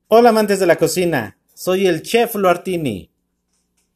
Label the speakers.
Speaker 1: Hola amantes de la cocina, soy el chef Luartini.